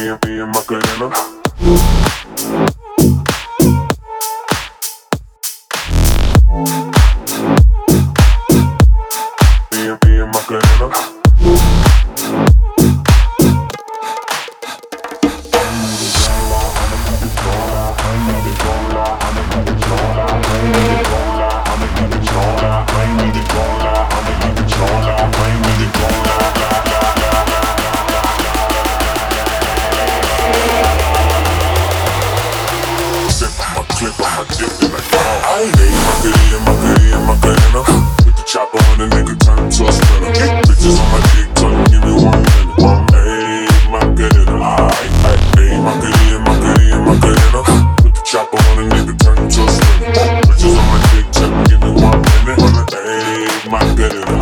me and Macarena. Me and Macarena. Macarena. With the chopper on the nigga, turn him to a sprinter. Bitches on my dick, tell him give me 1 minute. Hey, Macarena. Hey, Macarena. With the chopper on the nigga, turn him to a sprinter. Bitches on my dick, tell him give me 1 minute. Hey, Macarena.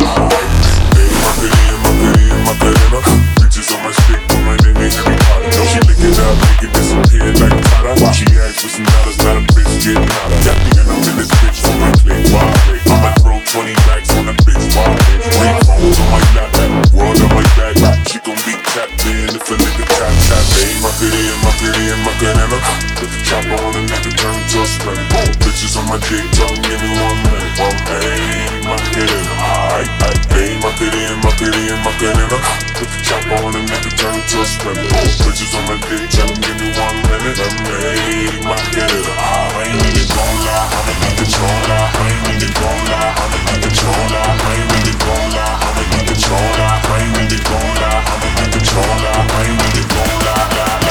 Hey, Macarena. Bitches on my stick, put my nigga every part. Know she lick it up, make it disappear like Prada. She asked for some dollars, not a bitch getting out of. And I'm in this bitch for my click. I'ma throw 20 racks on a bitch. 3 phones on my lap, world on my back. She gon' be tapped in if a nigga tap. Hey, Macarena. Put the chopper on a nigga, turn to a sprinter. Bitches on my dick, tell him give me 1 minute. Hey, Macarena. Hey, Macarena. Put the chopper on a nigga, turn to a sprinter. Bitches on my dick, tell him give me 1 minute. Hey, Macarena. I ain't even gon' lie, I'm in controller. I ain't even gon' lie, I'm in controller. I ain't even gon' lie, I'm in controller. I ain't even gon' lie, I'm in controller. I ain't even gon' lie.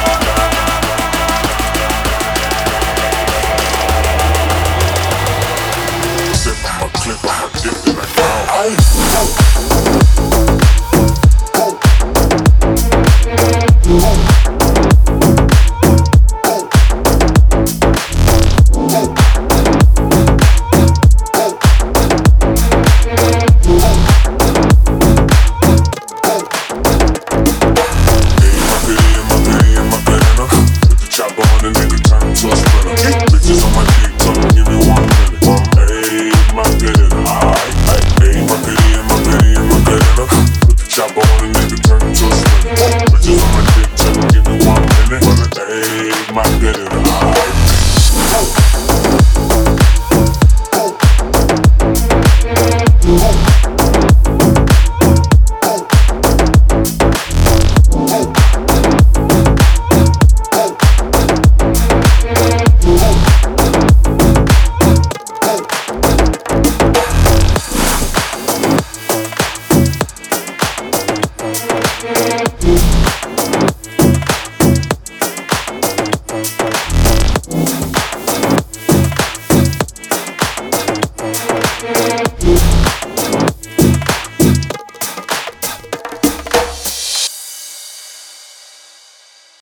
Sip on my clip, on my dip, and I go. Yeah.